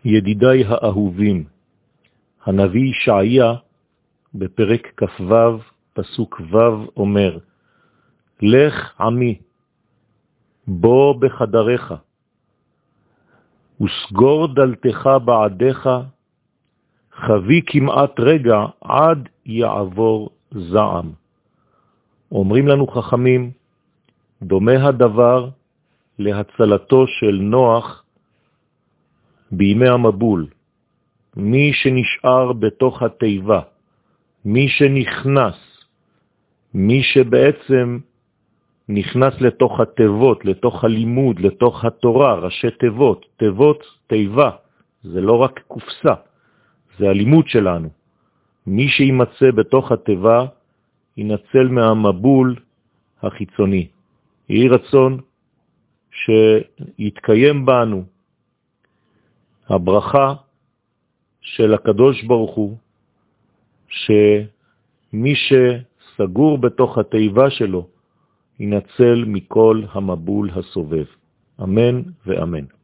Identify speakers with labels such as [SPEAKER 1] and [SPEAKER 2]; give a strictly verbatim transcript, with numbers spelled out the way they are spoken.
[SPEAKER 1] ידידיי האהובים, הנביא ישעיה בפרק כ"ו פסוק ו' אומר, לך עמי, בוא בחדריך, וסגור דלתך בעדיך, חבי כמעט רגע עד יעבור זעם. אומרים לנו חכמים, דומה הדבר להצלתו של נוח בימי המבול. מי שנשאר בתוך התיבה, מי שנכנס, מי שבעצם נכנס לתוך התיבות, לתוך הלימוד, לתוך התורה, ראשי תיבות, תיבות, תיבה, זה לא רק קופסה, זה הלימוד שלנו. מי שימצא בתוך התיבה, ינצל מהמבול החיצוני. יהי רצון שיתקיים בנו הברכה של הקדוש ברוך הוא, שמי שסגור בתוך התיבה שלו, ינצל מכל המבול הסובב. אמן ואמן.